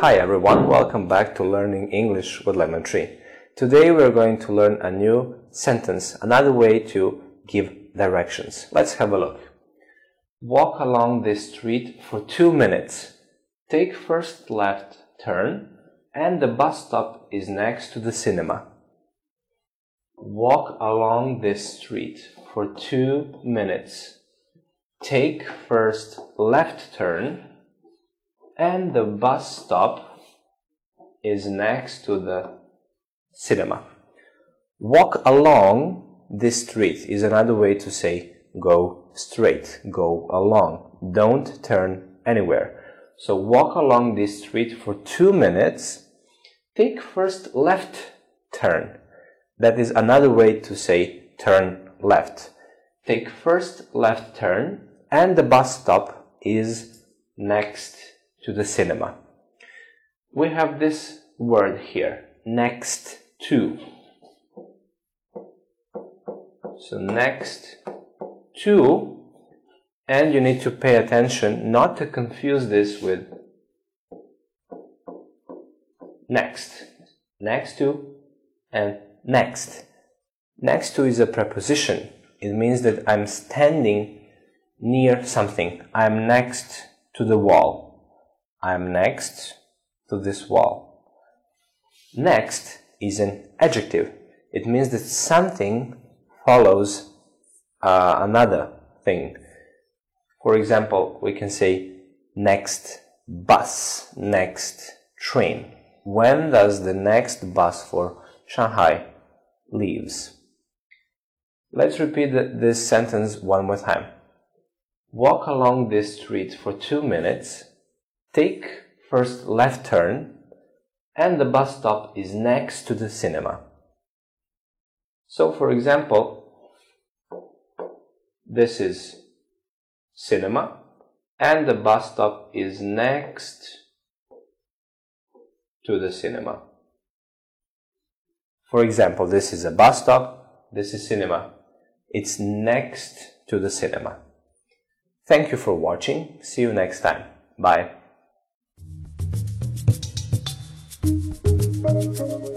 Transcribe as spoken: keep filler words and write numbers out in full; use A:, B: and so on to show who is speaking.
A: Hi everyone, welcome back to Learning English with Lemon Tree. Today we're going to learn a new sentence, another way to give directions. Let's have a look. Walk along this street for two minutes. Take first left turn and the bus stop is next to the cinema. Walk along this street for two minutes. Take first left turn and the bus stop is next to the cinema. Walk along this street is another way to say go straight, go along, don't turn anywhere. So walk along this street for two minutes, take first left turn. That is another way to say turn left. Take first left turn and the bus stop is next to the cinema. We have this word here, next to. So next to, and you need to pay attention not to confuse this with next. Next to and next. Next to is a preposition. It means that I'm standing near something. I'm next to the wall. I'm next to this wall. Next is an adjective. It means that something follows uh, another thing. For example, we can say next bus, next train. When does the next bus for Shanghai leaves? Let's repeat this sentence one more time. Walk along this street for two minutes. Take first left turn and the bus stop is next to the cinema. So for example, this is cinema and the bus stop is next to the cinema. For example, this is a bus stop, this is cinema. It's next to the cinema. Thank you for watching. See you next time. Bye. Thank you.